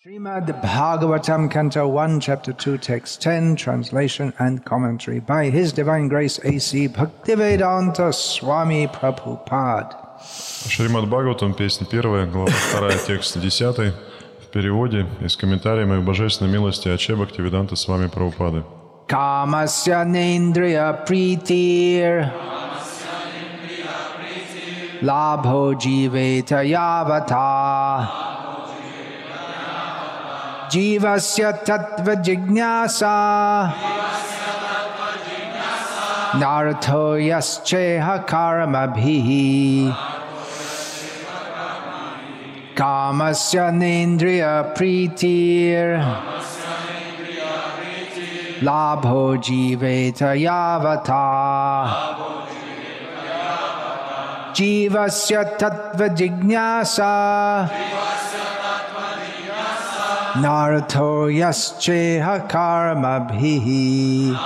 Srimad Bhagavatam, Canto 1, Chapter 2, Text 10, Translation and Commentary by His Divine Grace A.C. Bhaktivedanta Swami Prabhupada. Шримад Бхагаватам, песня 1, глава 2, текст 10, в переводе и с комментариями к божественной милости Аче Бхактивиданта Свами Прабхупады. Kamasya nendriya pritir labho jiveta yavata Jivasya tattva jignasa Nartho yasceha karamabhihi Kamasya nendriya pritir Labho jiveta yavata Jivasya tattva jignasa Nartho yasceha karamabhihi.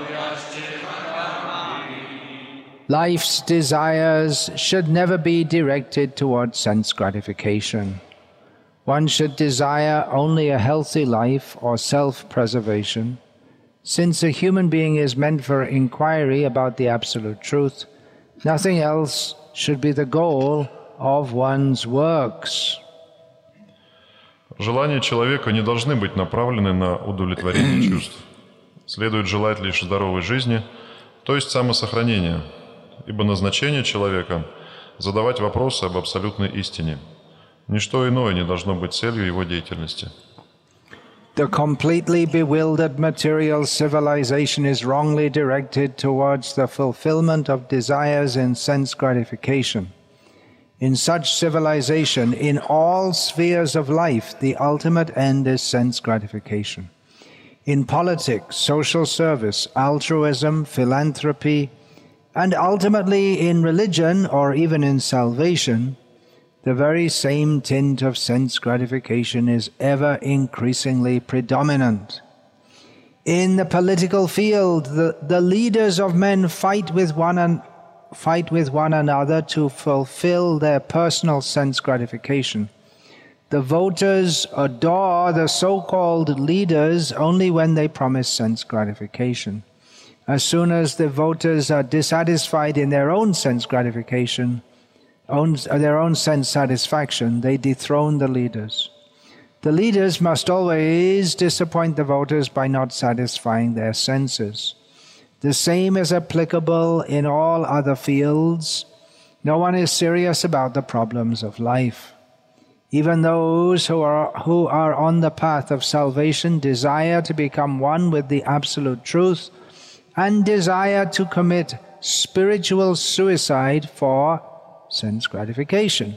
Life's desires should never be directed towards sense gratification. One should desire only a healthy life or self-preservation. Since a human being is meant for inquiry about the absolute truth, nothing else should be the goal of one's works. Желания человека не должны быть направлены на удовлетворение чувств. Следует желать лишь здоровой жизни, то есть самосохранения, ибо назначение человека – задавать вопросы об абсолютной истине. Ничто иное не должно быть целью его деятельности. The completely bewildered material civilization is wrongly directed towards the fulfillment of desires in sense gratification. In such civilization, in all spheres of life, the ultimate end is sense gratification. In politics, social service, altruism, philanthropy, and ultimately in religion or even in salvation, the very same tint of sense gratification is ever increasingly predominant. In the political field, the leaders of men fight with one another to fulfill their personal sense gratification. The voters adore the so-called leaders only when they promise sense gratification. As soon as the voters are dissatisfied in their own sense gratification, their own sense satisfaction, they dethrone the leaders. The leaders must always disappoint the voters by not satisfying their senses. The same is applicable in all other fields. No one is serious about the problems of life. Even those who are on the path of salvation desire to become one with the absolute truth and desire to commit spiritual suicide for sense gratification.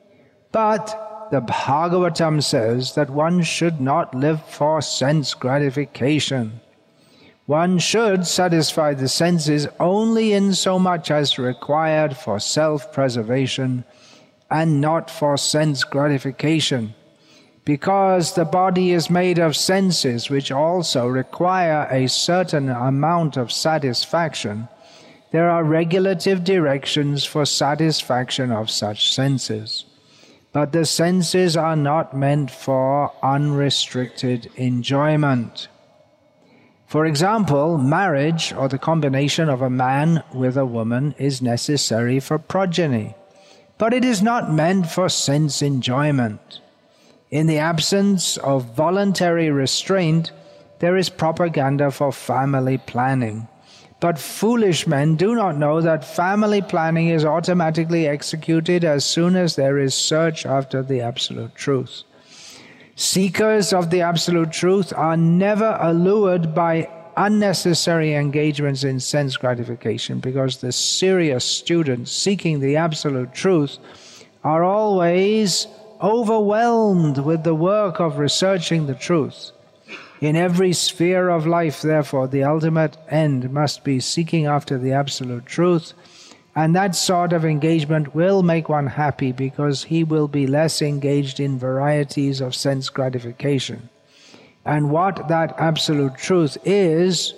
But the Bhagavatam says that one should not live for sense gratification. One should satisfy the senses only in so much as required for self-preservation and not for sense gratification. Because the body is made of senses which also require a certain amount of satisfaction, there are regulative directions for satisfaction of such senses. But the senses are not meant for unrestricted enjoyment. For example, marriage or the combination of a man with a woman is necessary for progeny, but it is not meant for sense enjoyment. In the absence of voluntary restraint, there is propaganda for family planning. But foolish men do not know that family planning is automatically executed as soon as there is search after the absolute truth. Seekers of the absolute truth are never allured by unnecessary engagements in sense gratification, because the serious students seeking the absolute truth are always overwhelmed with the work of researching the truth. In every sphere of life, therefore, the ultimate end must be seeking after the absolute truth, and that sort of engagement will make one happy because he will be less engaged in varieties of sense gratification. And what that absolute truth is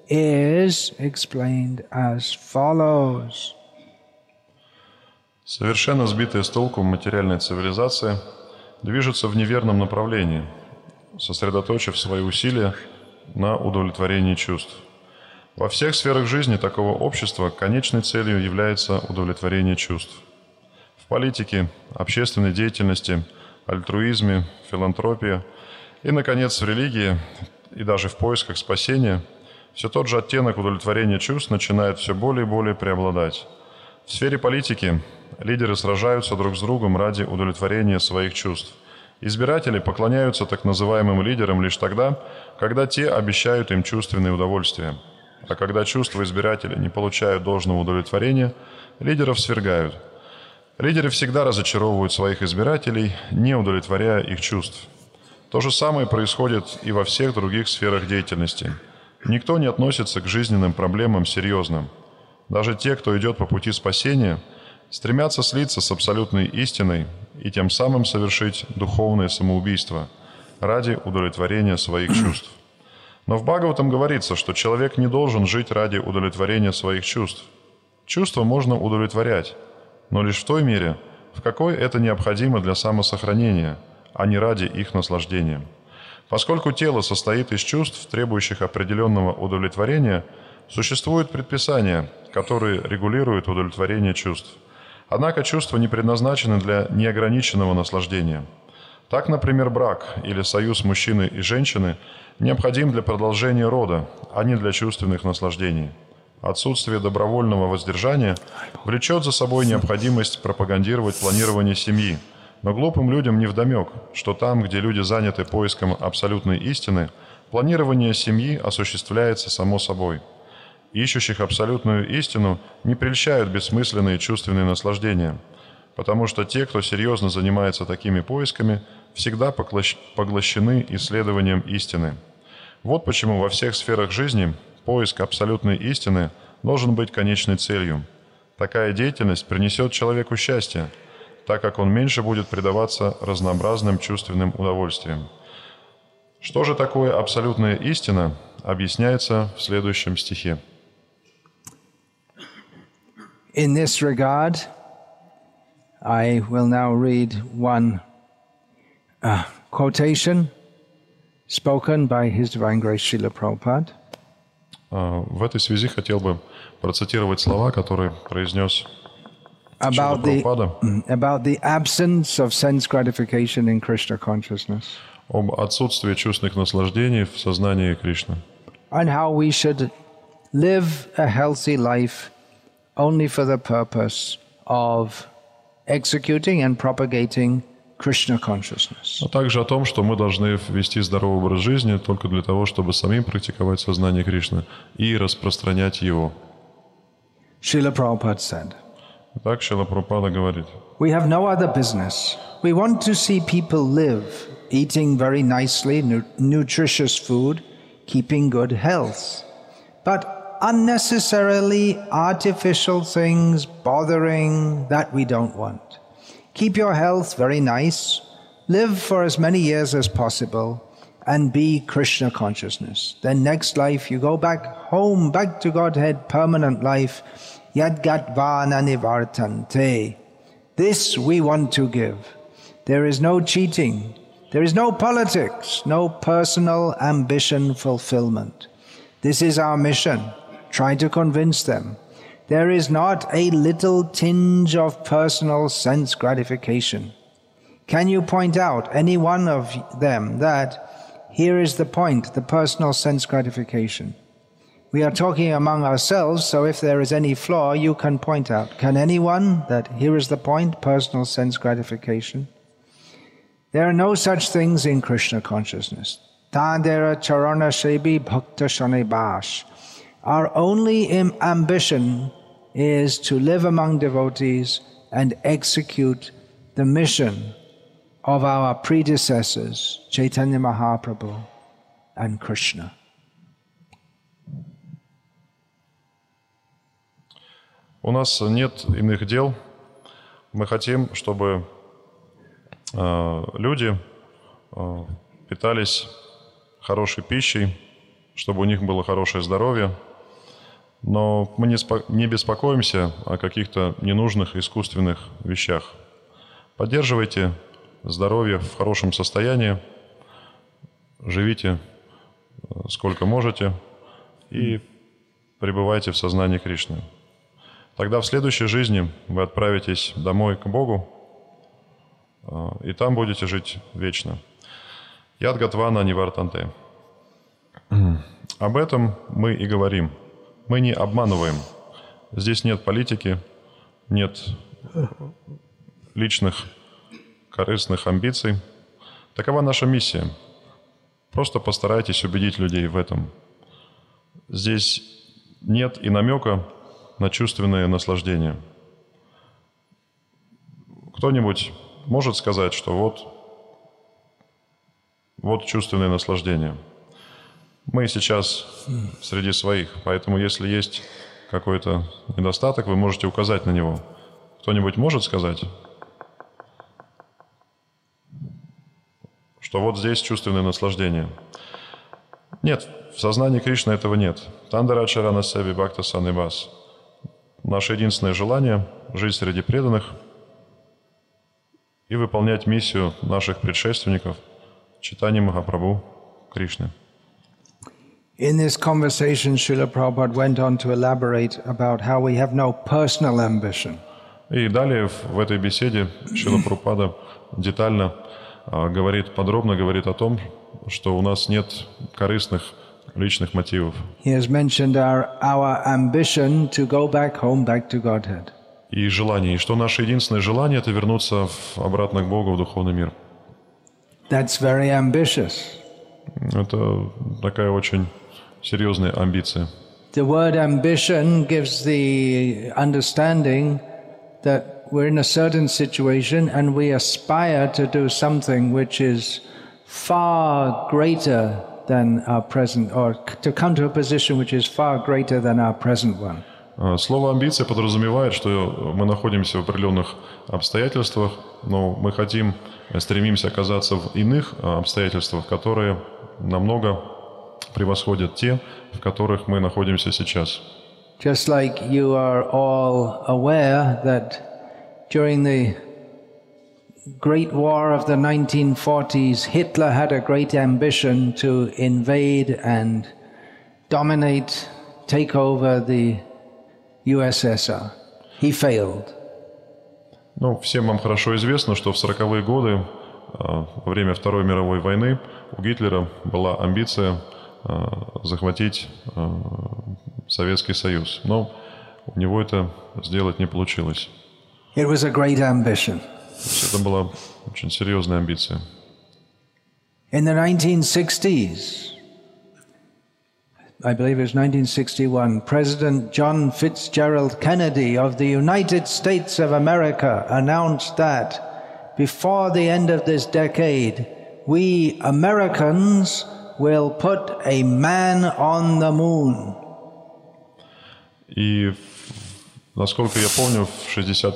explained as follows. Совершенно сбитые с толку материальной цивилизации движутся в неверном направлении сосредоточив свои усилия на удовлетворении чувств. Во всех сферах жизни такого общества конечной целью является удовлетворение чувств. В политике, общественной деятельности, альтруизме, филантропии и, наконец, в религии и даже в поисках спасения все тот же оттенок удовлетворения чувств начинает все более и более преобладать. В сфере политики лидеры сражаются друг с другом ради удовлетворения своих чувств. Избиратели поклоняются так называемым лидерам лишь тогда, когда те обещают им чувственные удовольствия. А когда чувства избирателей не получают должного удовлетворения, лидеров свергают. Лидеры всегда разочаровывают своих избирателей, не удовлетворяя их чувств. То же самое происходит и во всех других сферах деятельности. Никто не относится к жизненным проблемам серьезно. Даже те, кто идет по пути спасения, стремятся слиться с абсолютной истиной и тем самым совершить духовное самоубийство ради удовлетворения своих чувств. Но в Бхагаватам говорится, что человек не должен жить ради удовлетворения своих чувств. Чувства можно удовлетворять, но лишь в той мере, в какой это необходимо для самосохранения, а не ради их наслаждения. Поскольку тело состоит из чувств, требующих определенного удовлетворения, существуют предписания, которые регулируют удовлетворение чувств. Однако чувства не предназначены для неограниченного наслаждения. Так, например, брак или союз мужчины и женщины необходим для продолжения рода, а не для чувственных наслаждений. Отсутствие добровольного воздержания влечет за собой необходимость пропагандировать планирование семьи, но глупым людям невдомек, что там, где люди заняты поиском абсолютной истины, планирование семьи осуществляется само собой. Ищущих абсолютную истину не прельщают бессмысленные чувственные наслаждения, потому что те, кто серьезно занимается такими поисками, всегда поглощены исследованием истины. Вот почему во всех сферах жизни поиск абсолютной истины должен быть конечной целью. Такая деятельность принесет человеку счастье, так как он меньше будет предаваться разнообразным чувственным удовольствиям. Что же такое абсолютная истина, объясняется в следующем стихе. In this regard, I will now read one quotation spoken by His Divine Grace Srila Prabhupada. В этой связи хотел бы процитировать слова, которые произнес Шрила Прабхупада about the absence of sense gratification in Krishna consciousness. Об отсутствии чувственных наслаждений в сознании Кришны. And how we should live a healthy life only for the purpose of executing and propagating Krishna consciousness. А также о том, что мы должны вести здоровый образ жизни только для того, чтобы самим практиковать сознание Кришны и распространять его. Srila Prabhupada said, Так Шрила Прабхупада говорит: we have no other business. We want to see people live, eating very nicely, nutritious food, keeping good health. But unnecessarily artificial things, bothering, that we don't want. Keep your health very nice, live for as many years as possible, and be Krishna consciousness. Then next life you go back home, back to Godhead, permanent life, yadgatvana nivartante. This we want to give. There is no cheating, there is no politics, no personal ambition fulfillment. This is our mission. Try to convince them. There is not a little tinge of personal sense gratification. Can you point out any one of them that here is the point, the personal sense gratification? We are talking among ourselves, so if there is any flaw, you can point out. Can anyone that here is the point, personal sense gratification? There are no such things in Krishna consciousness. Tadera charana shebi bhakta shane bash. Our only ambition is to live among devotees and execute the mission of our predecessors, Chaitanya Mahaprabhu and Krishna. У нас нет иных дел. Мы хотим, чтобы люди питались хорошей пищей, чтобы у них было хорошее здоровье. Но мы не беспокоимся о каких-то ненужных искусственных вещах. Поддерживайте здоровье в хорошем состоянии живите сколько можете и пребывайте в сознании Кришны. Тогда в следующей жизни вы отправитесь домой к Богу, и там будете жить вечно. Яд Гатвана Нивартанте. Об этом мы и говорим. Мы не обманываем. Здесь нет политики, нет личных корыстных амбиций. Такова наша миссия. Просто постарайтесь убедить людей в этом. Здесь нет и намека на чувственное наслаждение. Кто-нибудь может сказать, что вот чувственное наслаждение. Мы сейчас среди своих, поэтому если есть какой-то недостаток, вы можете указать на него. Кто-нибудь может сказать, что вот здесь чувственное наслаждение? Нет, в сознании Кришны этого нет. Тандарачарана Севи Бхакта Саннибас. Наше единственное желание – жить среди преданных и выполнять миссию наших предшественников Чайтанья Махапрабху Кришны. In this conversation, Srila Prabhupada went on to elaborate about how we have no personal ambition. И далее в этой беседе Шрила Прабхупада детально подробно говорит о том, что у нас нет корыстных личных мотивов. He has mentioned our ambition to go back home, back to Godhead. И желание, и что наше единственное желание – это вернуться обратно к Богу, в духовный мир. That's very ambitious. Это такая очень серьезная амбиция. The word ambition gives the understanding that we're in a certain situation and we aspire to do something which is far greater than our present, or to come to a position which is far greater than our present one. Слово «амбиция» подразумевает, что мы находимся в определенных обстоятельствах, но мы стремимся оказаться в иных обстоятельствах, которые намного превосходят те, в которых мы находимся сейчас. Just like you are all aware that during the Great War of the 1940s, Hitler had a great ambition to invade and dominate, take over the USSR. He failed. Всем вам хорошо известно, что в 40-е годы, во время Второй мировой войны, у Гитлера была амбиция захватить Советский Союз. Но у него это сделать не получилось. It was a great ambition. Это была очень серьезная амбиция. In the 1960s, I believe it was 1961, President John Fitzgerald Kennedy of the United States of America announced that before the end of this decade, we Americans will put a man on the moon. И, насколько я помню, в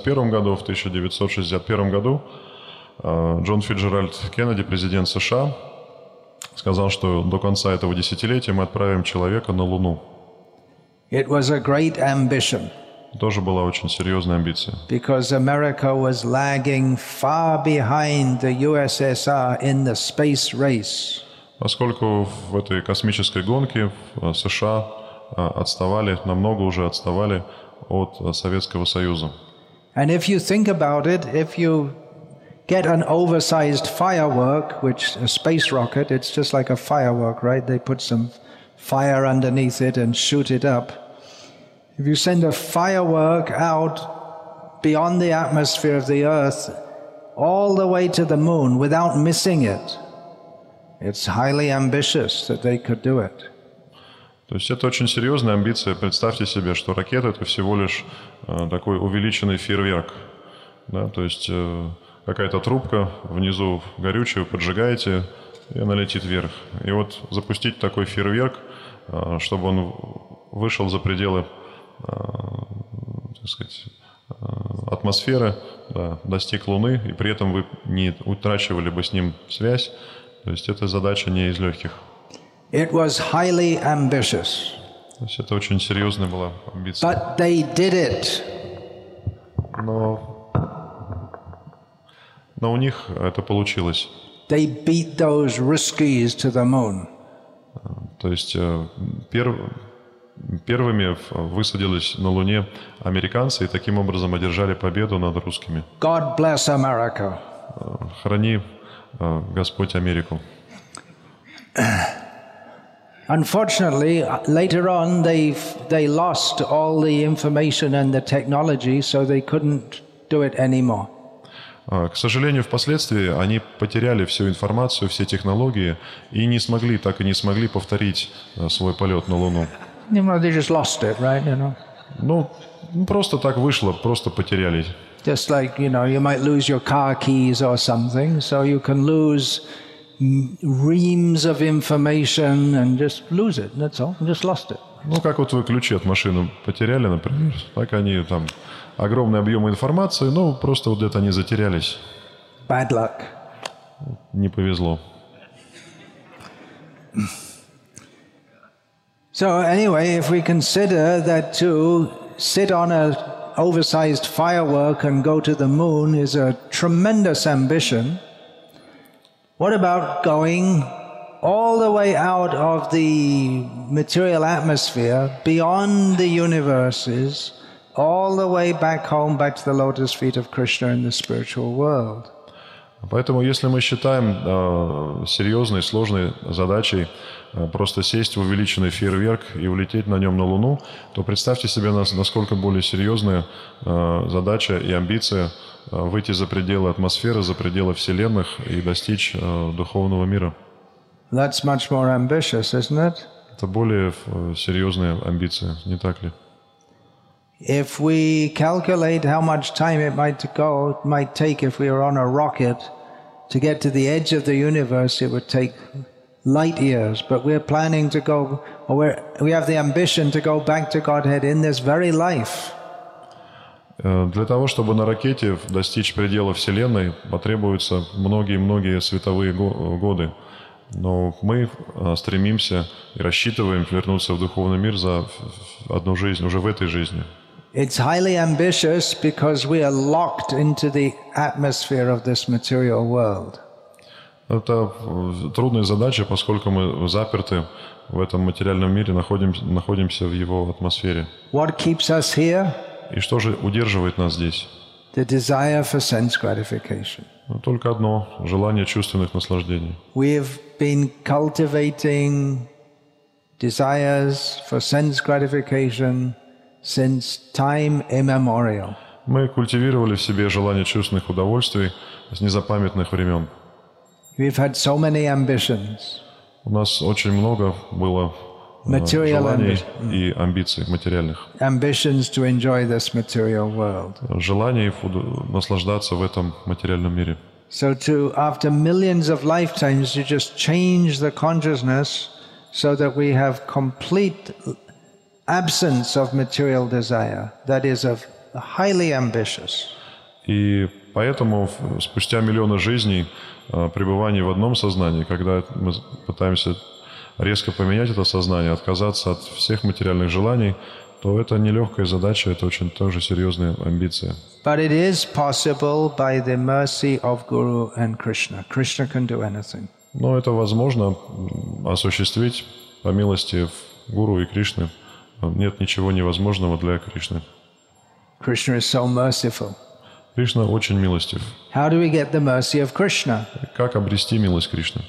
1961 году Джон Фитджеральд Кеннеди, президент США, сказал, что до конца этого десятилетия мы отправим человека на Луну. It was a great ambition. Тоже была очень серьезная амбиция. Because America was lagging far behind the USSR in the space race. Поскольку в этой космической гонке США намного уже отставали от Советского Союза. And if you think about it, if you get an oversized firework, which a space rocket, it's just like a firework, right? They put some fire underneath it and shoot it up. If you send a firework out beyond the atmosphere of the Earth, all the way to the moon without missing it, it's highly ambitious that they could do it. То есть это очень серьезная амбиция. Представьте себе, что ракета – это всего лишь такой увеличенный фейерверк. Да? То есть какая-то трубка, внизу горючее, поджигаете, и она летит вверх. И вот запустить такой фейерверк, чтобы он вышел за пределы, так сказать, атмосферы, да, достиг Луны, и при этом вы не утрачивали бы с ним связь. То есть эта задача не из легких. It was highly ambitious. То есть это очень серьезная была амбиция. But they did it. Но у них это получилось. they beat those Ruskies to the moon. То есть первыми высадились на Луне американцы и таким образом одержали победу над русскими. God bless America. Храни Господь Америку. Unfortunately, later on, they lost all the information and the technology, so they couldn't do it anymore. К сожалению, впоследствии они потеряли всю информацию, все технологии и так и не смогли повторить свой полет на Луну. They just lost it, right? Ну, просто так вышло, просто потеряли. Just like, you might lose your car keys or something, so you can lose reams of information and just lose it. That's all. You just lost it. Ну, как вот вы ключи от машины потеряли, например, так они там огромный объем информации, но просто вот где-то они затерялись. Bad luck. Не повезло. So anyway, if we consider that to sit on an oversized firework and go to the moon is a tremendous ambition, what about going all the way out of the material atmosphere, beyond the universes, all the way back home, back to the lotus feet of Krishna in the spiritual world? Поэтому, если мы считаем серьезной, сложной задачей просто сесть в увеличенный фейерверк и улететь на нем на Луну, то представьте себе, насколько более серьезная задача и амбиция выйти за пределы атмосферы, за пределы вселенных и достичь духовного мира. That's much more ambitious, isn't it? Это более серьезная амбиция, не так ли? If we calculate how much time it might take if we were on a rocket to get to the edge of the universe, it would take light years. But we're planning to go, or we have the ambition to go back to Godhead in this very life. Для того, чтобы на ракете достичь предела Вселенной, потребуются многие-многие световые годы. Но мы стремимся и рассчитываем вернуться в духовный мир за одну жизнь, уже в этой жизни. It's highly ambitious because we are locked into the atmosphere of this material world. Это трудная задача, поскольку мы заперты в этом материальном мире, находимся в его атмосфере. What keeps us here? И что же удерживает нас здесь? The desire for sense gratification. Только одно – желание чувственных наслаждений. We've been cultivating desires for sense gratification since time immemorial. Мы культивировали в себе желание чувственных удовольствий с незапамятных времен. We've had so many ambitions. У нас очень много было желаний и амбиций материальных. Ambitions to enjoy this material world. Желаний наслаждаться в этом материальном мире. So after millions of lifetimes, you just change the consciousness so that we have complete absence of material desire, that is highly ambitious. И поэтому спустя миллионы жизней пребывания в одном сознании, когда мы пытаемся резко поменять это сознание, отказаться от всех материальных желаний, то это нелегкая задача, это очень тоже серьезная амбиция. But it is possible by the mercy of Guru and Krishna. Krishna can do anything. Но это возможно осуществить по милости Гуру и Кришны. Нет ничего невозможного для Кришны. Krishna is so merciful. Кришна очень милостив. How do we get the mercy of Krishna? Как обрести милость Кришны?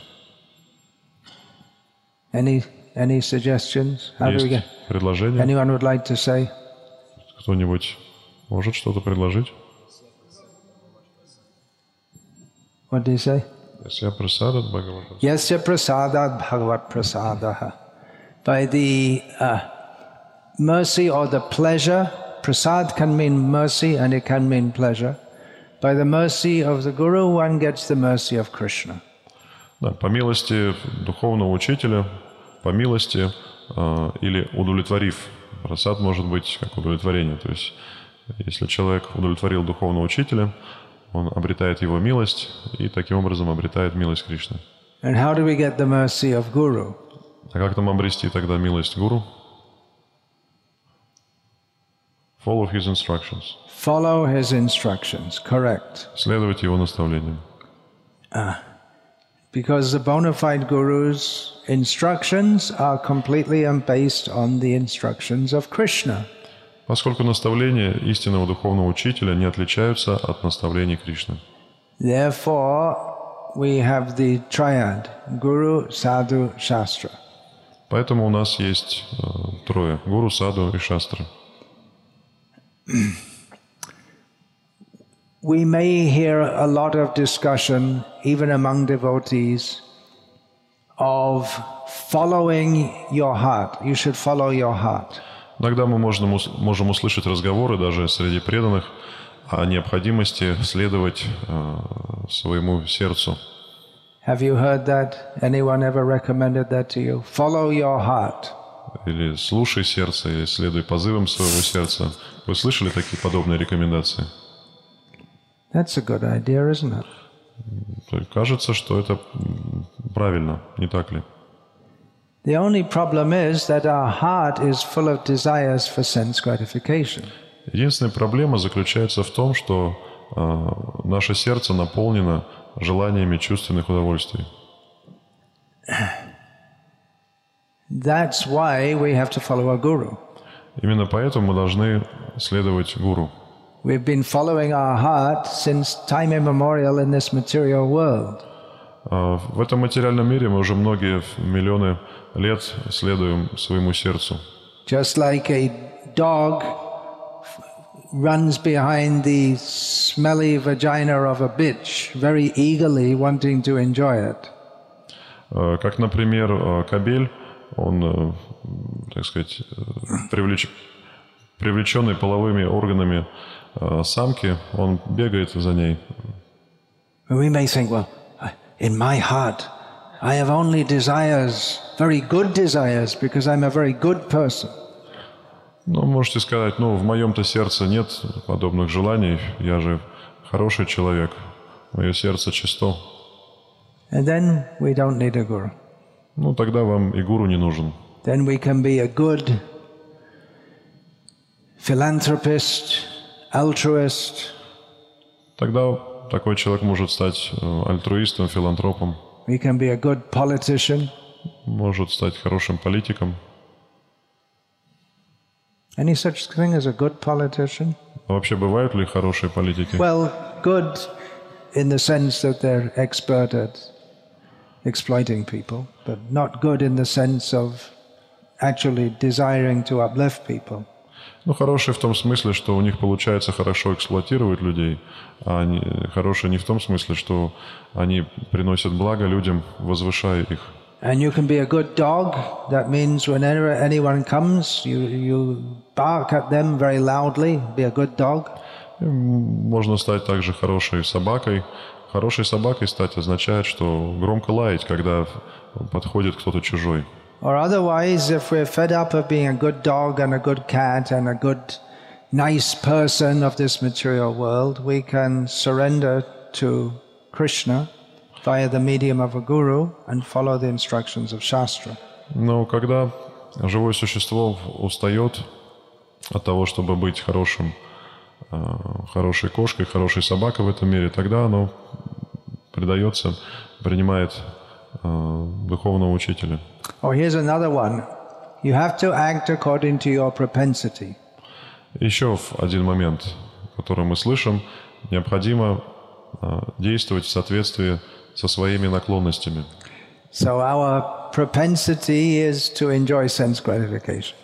Any suggestions? How do we get? Предложение? Anyone would like to say? Кто-нибудь может что-то предложить? What do you say? Yasya prasadat bhagavad. Yasya prasadat bhagavad prasadaha. By the mercy or the pleasure, prasad can mean mercy and it can mean pleasure. By the mercy of the Guru, one gets the mercy of Krishna. Да, по милости духовного учителя, по милости или удовлетворив. Прасад может быть как удовлетворение. То есть, если человек удовлетворил духовного учителя, он обретает его милость и таким образом обретает милость Кришны. And how do we get the mercy of Guru? А как нам обрести тогда милость Гуру? Follow his instructions. Follow his instructions, correct. Следовать его наставлениям. Because the bona fide guru's instructions are completely based on the instructions of Krishna. Поскольку наставления истинного духовного учителя не отличаются от наставлений Кришны. Therefore, we have the triad, Guru, Sadhu, Shastra. Поэтому у нас есть трое – гуру, саду и шастра. We may hear a lot of discussion, even among devotees, of following your heart. You should follow your heart. Иногда мы можем услышать разговоры даже среди преданных о необходимости следовать своему сердцу. Have you heard that? Anyone ever recommended that to you? Follow your heart. Или слушай сердце, или следуй позывам своего сердца. Вы слышали такие подобные рекомендации? That's a good idea, isn't it? Кажется, что это правильно, не так ли? The only problem is that our heart is full of desires for sense gratification. Единственная проблема заключается в том, что наше сердце наполнено желаниями чувственных удовольствий. That's why we have to follow a guru. Именно поэтому мы должны следовать гуру. We've been following our heart since time immemorial in this material world. В этом материальном мире мы уже многие миллионы лет следуем своему сердцу. Just like a dog runs behind the smelly vagina of a bitch, very eagerly wanting to enjoy it. Как, например, кобель, он, так сказать, привлеченный половыми органами самки, он бегает за ней. We may think, well, in my heart, I have only desires, very good desires, because I'm a very good person. Ну, можете сказать, в моем-то сердце нет подобных желаний, я же хороший человек, мое сердце чисто. And then we don't need a guru. Ну, тогда вам и гуру не нужен. Then we can be a good philanthropist, altruist. Тогда такой человек может стать альтруистом, филантропом. We can be a good politician. Может стать хорошим политиком. Any such thing as a good politician? А вообще бывают ли хорошие политики? Well, good in the sense that they're expert at exploiting people, but not good in the sense of actually desiring to uplift people. Ну, хорошие в том смысле, что у них получается хорошо эксплуатировать людей, а хорошие не в том смысле, что они приносят благо людям, возвышая их. And you can be a good dog. That means whenever anyone comes, you bark at them very loudly. Be a good dog. Можно стать также хорошей собакой. Хорошей собакой стать означает, что громко лаять, когда подходит кто-то чужой. Or otherwise, if we're fed up of being a good dog and a good cat and a good, nice person of this material world, we can surrender to Krishna via the medium of a guru and follow the instructions of Shastra. Но когда живое существо устает от того, чтобы быть хорошей кошкой, хорошей собакой в этом мире, тогда оно предается, принимает духовного учителя. Oh, here's another one. You have to act according to your propensity. Еще один момент, который мы слышим, необходимо действовать в соответствии со своими наклонностями. So our propensity is to enjoy sense gratification.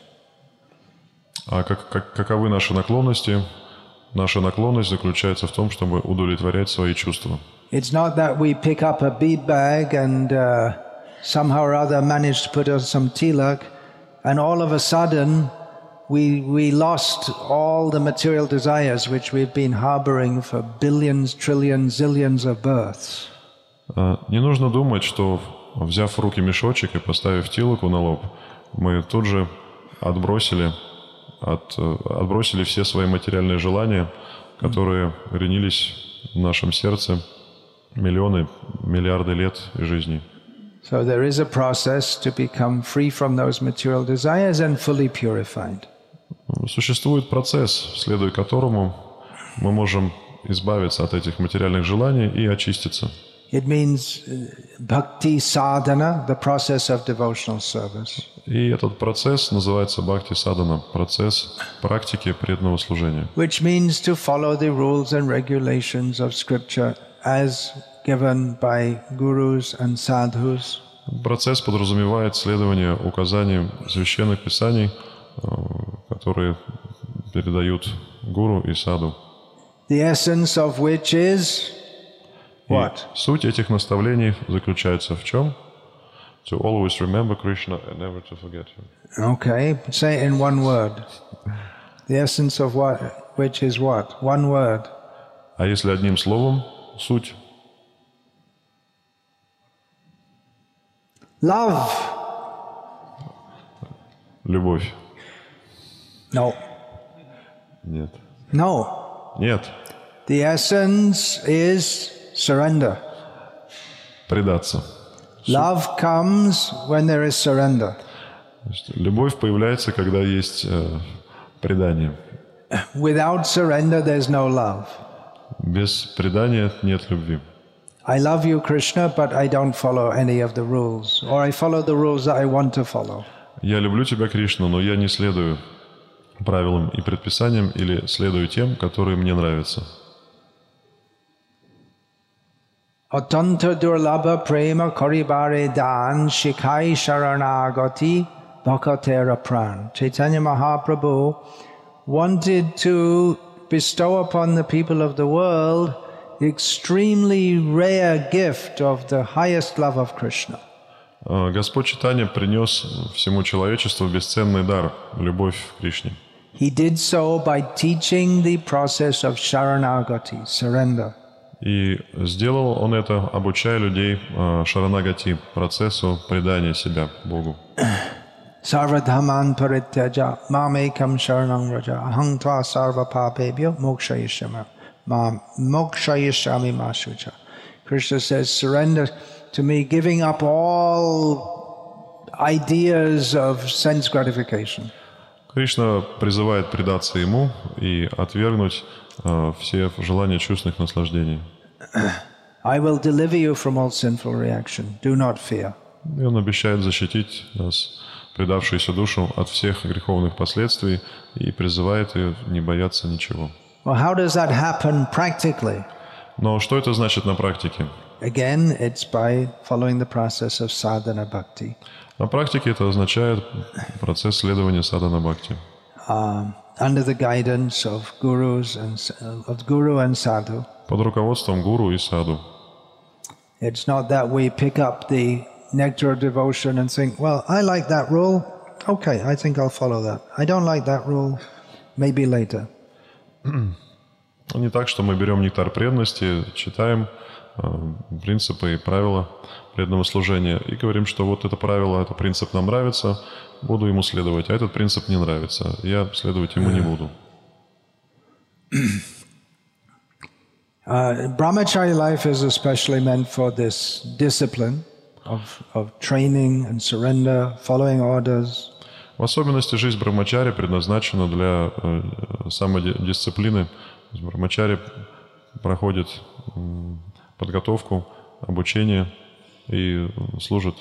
А каковы наши наклонности? Наша наклонность заключается в том, чтобы удовлетворять свои чувства. It's not that we pick up a bead bag and somehow or other manage to put on some tilak, and all of a sudden we lost all the material desires which we've been harboring for billions, trillions, zillions of births. Не нужно думать, что, взяв в руки мешочек и поставив тилоку на лоб, мы тут же отбросили все свои материальные желания, которые ренились в нашем сердце миллионы, миллиарды лет жизни. So there is a process to become free from those material desires and fully purified. Существует процесс, следуя которому мы можем избавиться от этих материальных желаний и очиститься. It means bhakti sadhana, the process of devotional service. И этот процесс называется бхакти-садана, процесс практики преданного служения. Which means to follow the rules and regulations of scripture as given by gurus and sadhus. Процесс подразумевает следование указаниям священных писаний, которые передают гуру и саду. The essence of which is what? И суть этих наставлений заключается в чем? To always remember Krishna and never to forget him. Okay, say it in one word. The essence of what, which is what? One word. А если одним словом, суть? Love. Любовь. No. Нет. No. Нет. The essence is surrender. Предаться. Love comes when there is surrender. Любовь появляется, когда есть предание. Without surrender, there's no love. Без предания нет любви. I love you, Krishna, but I don't follow any of the rules. Or I follow the rules that I want to follow. Я люблю тебя, Кришна, но я не следую правилам и предписаниям или следую тем, которые мне нравятся. Atanta durlabha prema karibare dan shikai sharanagati bhakatera pran. Chaitanya Mahaprabhu wanted to bestow upon the people of the world the extremely rare gift of the highest love of Krishna. Господь Чайтанья принес всему человечеству бесценный дар – любовь к Кришне. He did so by teaching the process of sharanagati, surrender. И сделал он это, обучая людей шаранагати, процессу предания себя Богу. Sarvadhaman parityaja mamekam sharanam raja aham tva sarva papebhyo mokshayishyami mashucha. Krishna says, surrender to me, giving up all ideas of sense gratification. Кришна призывает предаться Ему и отвергнуть все желания чувственных наслаждений. I will deliver you from all sinful reaction. Do not fear. И Он обещает защитить нас, предавшуюся душу, от всех греховных последствий и призывает ее не бояться ничего. Well, how does that happen practically? Но что это значит на практике? Again, it's by following the process of sadhana bhakti. На практике это означает процесс следования садхана бхакти. Under the guidance of gurus of guru and sadhu. Под руководством гуру и саду. It's not that we pick up the nectar of devotion and think, well, I like that rule. Okay, I think I'll follow that. I don't like that rule. Maybe later. Не так, что мы берем нектар преданности, читаем принципы и правила преданного служения и говорим, что вот это правило, этот принцип нам нравится, буду ему следовать, а этот принцип не нравится, я следовать ему не буду. Brahmachari life is especially meant for this discipline of training and surrender, following orders. В особенности жизнь брахмачари предназначена для самодисциплины. Брахмачари проходит подготовку, обучение и служит.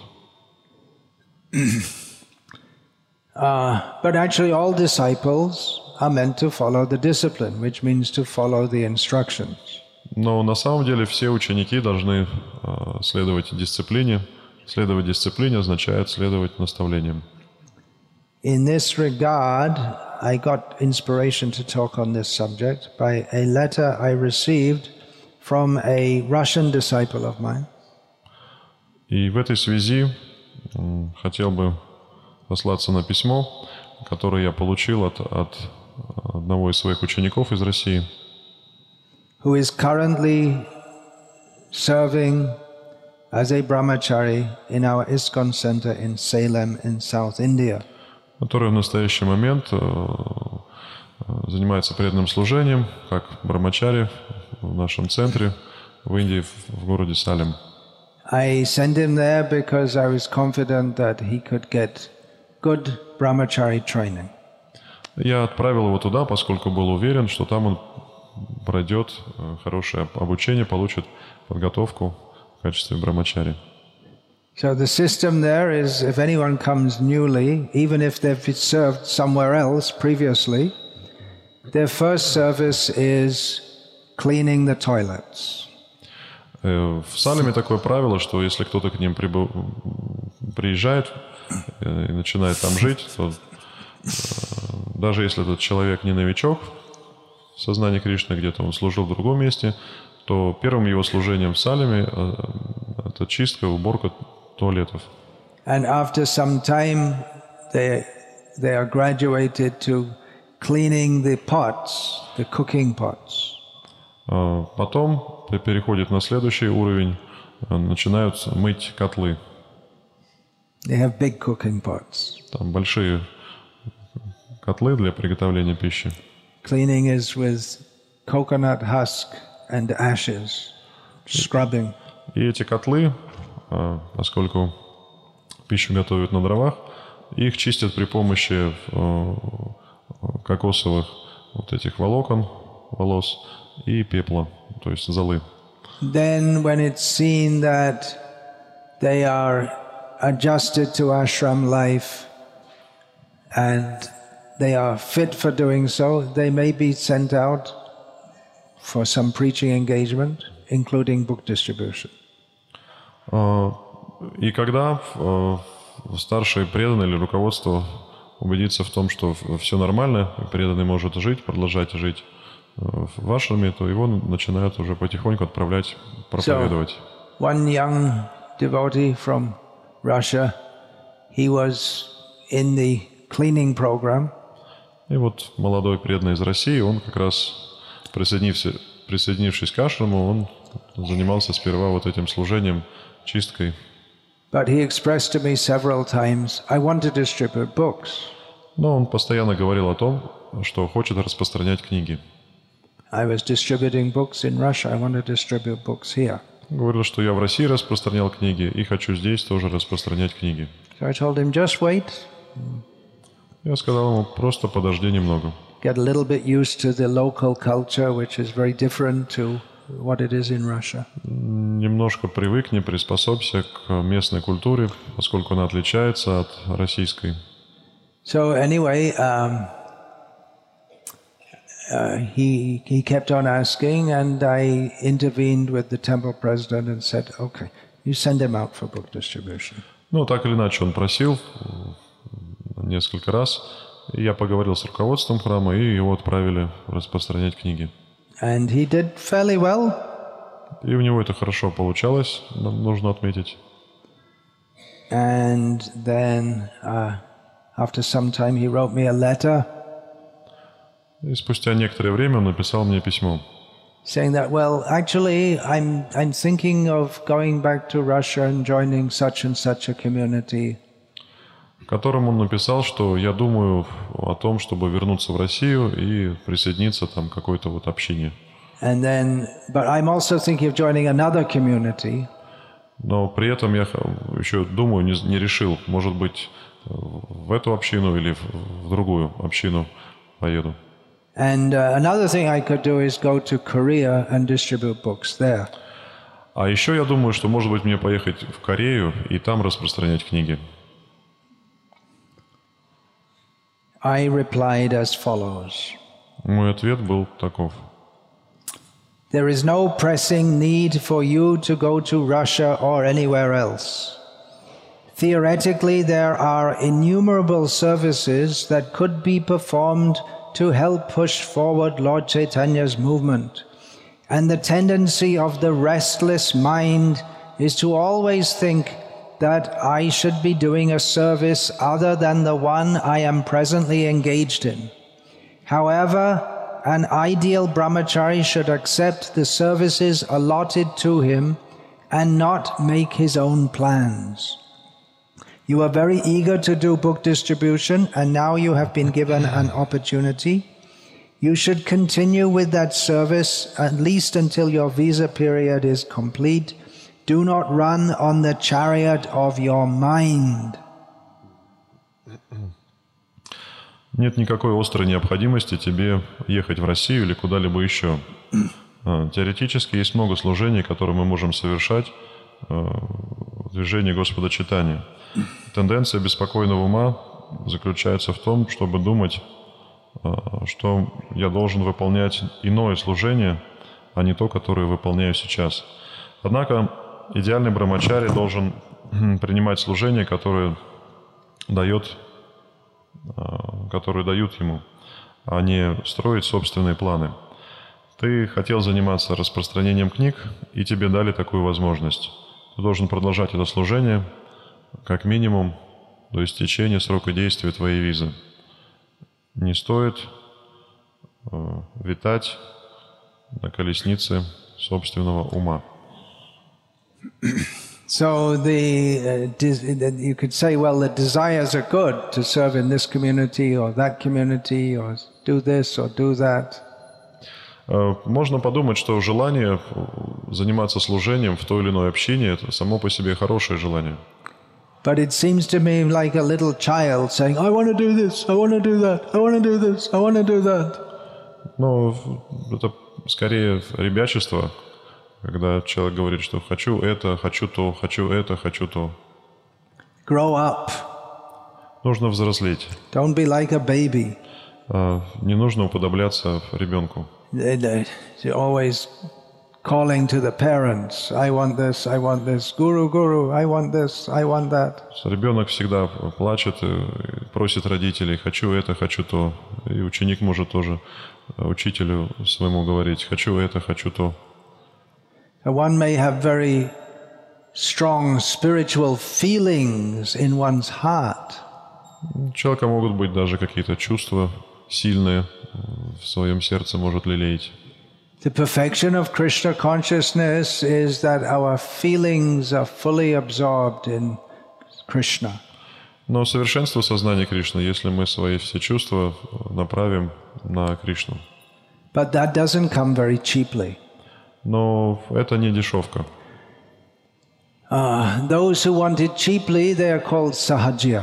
But actually all disciples are meant to follow the discipline, which means to follow the instructions. Но на самом деле все ученики должны следовать дисциплине. Следовать дисциплине означает следовать наставлениям. In this regard, I got inspiration to talk on this subject by a letter I received from a Russian disciple of mine. И в этой связи хотел бы сослаться на письмо, которое я получил от одного из своих учеников из России, who is currently serving as a brahmachari in our ISKCON center in Salem in South India. который в настоящий момент занимается преданным служением, как брахмачари в нашем центре в Индии, в городе Салем. I sent him there because I was confident that he could get good brahmachari training. Я отправил его туда, поскольку был уверен, что там он пройдет хорошее обучение, получит подготовку в качестве брамачари. So the system there is, if anyone comes newly, even if they've been served somewhere else previously, their first service is cleaning the toilets. В Салеме такое правило, что если кто-то к ним приезжает и начинает там жить, то даже если этот человек не новичок в сознании Кришны, где-то он служил в другом месте, то первым его служением в Салеме это чистка, уборка туалетов. And after some time, they are graduated to cleaning the pots, the cooking pots. Потом переходит на следующий уровень, начинают мыть котлы. They have big cooking pots. Там большие котлы для приготовления пищи. Cleaning is with coconut husk and ashes, scrubbing. И эти котлы, поскольку пищу готовят на дровах, их чистят при помощи кокосовых вот этих волос и пепла, то есть золы. Then when it's seen that they are adjusted to ashram life and they are fit for doing so, they may be sent out for some preaching engagement, including book distribution. И когда старшие преданные или руководство убедится в том, что все нормально, преданный может жить, продолжать жить в ашраме, то его начинают уже потихоньку отправлять проповедовать. So, one young devotee from Russia, he was in the cleaning program. И вот молодой преданный из России, он как раз, присоединившись к ашраму, он занимался сперва вот этим служением, чисткой. But he expressed to me several times, I want to distribute books. Но он постоянно говорил о том, что хочет распространять книги. I was distributing books in Russia, I want to distribute books here. Говорил, что я в России распространял книги и хочу здесь тоже распространять книги. So I told him, just wait. Я сказал ему, просто подожди немного. Get a little bit used to the local culture, which is very different to what it is in Russia. Немножко привыкни, приспособься к местной культуре, поскольку она отличается от российской. So anyway, he kept on asking, and I intervened with the temple president and said, okay, you send him out for book distribution. Ну, так или иначе, он просил несколько раз, и я поговорил с руководством храма, и его отправили распространять книги. And he did fairly well. И у него это хорошо получалось, нужно отметить. And then after some time he wrote me a letter. И спустя некоторое время он написал мне письмо. Saying that, well, actually, I'm thinking of going back to Russia and joining such and such a community. В котором он написал, что я думаю о том, чтобы вернуться в Россию и присоединиться там к какой-то вот общине. And then, but I'm also thinking of joining another community. Но при этом я еще думаю, не решил, может быть, в эту общину или в другую общину поеду. And another thing I could do is go to Korea and distribute books there. А еще я думаю, что, может быть, мне поехать в Корею и там распространять книги. I replied as follows. Мой ответ был таков. There is no pressing need for you to go to Russia or anywhere else. Theoretically, there are innumerable services that could be performed to help push forward Lord Chaitanya's movement. And the tendency of the restless mind is to always think that I should be doing a service other than the one I am presently engaged in. However, an ideal brahmachari should accept the services allotted to him and not make his own plans. You are very eager to do book distribution, and now you have been given an opportunity. You should continue with that service at least until your visa period is complete. Do not run on the chariot of your mind. Нет никакой острой необходимости тебе ехать в Россию или куда-либо еще. Теоретически есть много служений, которые мы можем совершать в движении Господа Чайтаньи. Тенденция беспокойного ума заключается в том, чтобы думать, что я должен выполнять иное служение, а не то, которое выполняю сейчас. Однако идеальный брамачари должен принимать служение, которое дают ему, а не строить собственные планы. Ты хотел заниматься распространением книг, и тебе дали такую возможность. Ты должен продолжать это служение, как минимум, до истечения срока действия твоей визы. Не стоит витать на колеснице собственного ума. So you could say, well, the desires are good to serve in this community or that community or do this or do that. Можно подумать, что желание заниматься служением в той или иной общине – это само по себе хорошее желание. But it seems to me like a little child saying, I want to do this, I want to do that, I want to do this, I want to do that. Но это скорее ребячество, когда человек говорит, что хочу это, хочу то, хочу это, хочу то. Grow up. Нужно взрослеть. Don't be like a baby. Не нужно уподобляться ребенку. They're always calling to the parents, I want this, Guru, Guru, I want this, I want that. Ребенок всегда плачет и просит родителей, хочу это, хочу то. И ученик может тоже учителю своему говорить, хочу это, хочу то. One may have very strong spiritual feelings in one's heart. У человека могут быть даже какие-то чувства сильные в своем сердце, может лелеять. The perfection of Krishna consciousness is that our feelings are fully absorbed in Krishna. Но совершенство сознания Кришны, если мы свои все чувства направим на Кришну. But that doesn't come very cheaply. Но это не дешевка. Those who want it cheaply, they are called sahajya.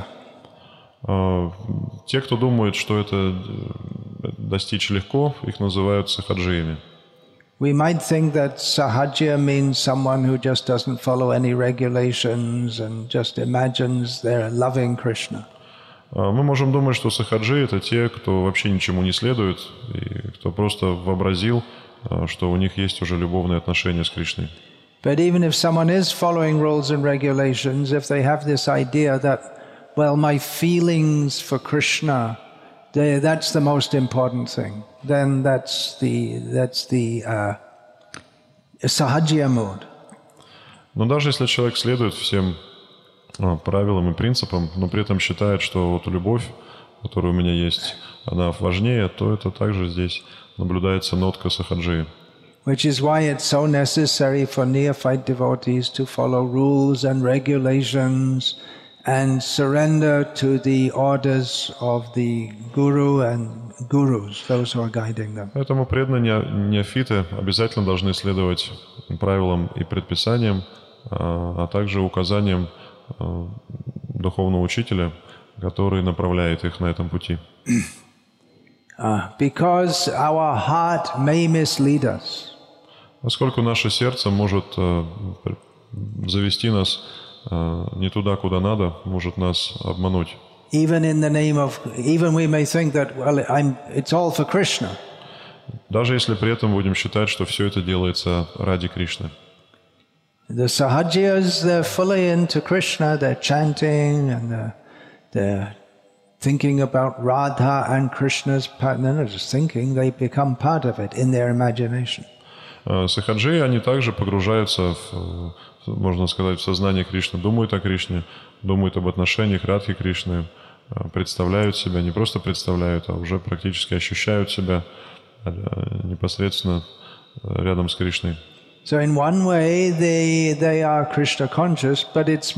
Те, кто думает, что это достичь легко, их называют сахаджиями. We might think that sahajya means someone who just doesn't follow any regulations and just imagines they're loving Krishna. Мы можем думать, что сахаджи — это те, кто вообще ничему не следует, и кто просто вообразил, что у них есть уже любовные отношения с Кришной. But even if someone is following rules and regulations, if they have this idea that, well, my feelings for Krishna, that's the most important thing, then that's the sahajya mood. Но даже если человек следует всем правилам и принципам, но при этом считает, что вот любовь, которая у меня есть, она важнее, то это также здесь наблюдается нотка сахаджи. Which is why it's so necessary for neophyte devotees to follow rules and regulations and surrender to the orders of the guru and gurus, those who are guiding them. Поэтому преданные неофиты обязательно должны следовать правилам и предписаниям, а также указаниям духовного учителя, который направляет их на этом пути. Because our heart may mislead us. Поскольку наше сердце может завести нас не туда, куда надо, может нас обмануть. Even we may think that, well, it's all for Krishna. Даже если при этом будем считать, что все это делается ради Кришны. The sahajyas, they're fully into Krishna, they're chanting and they're thinking about Radha and Krishna's part. They're not just thinking, they become part of it in their imagination. Сахаджи, они также погружаются, можно сказать, в сознание Кришны, думают о Кришне, думают об отношениях Радхи Кришны, представляют себя, не просто представляют, а уже практически ощущают себя непосредственно рядом с Кришной. So in one way they are Krishna conscious, but it's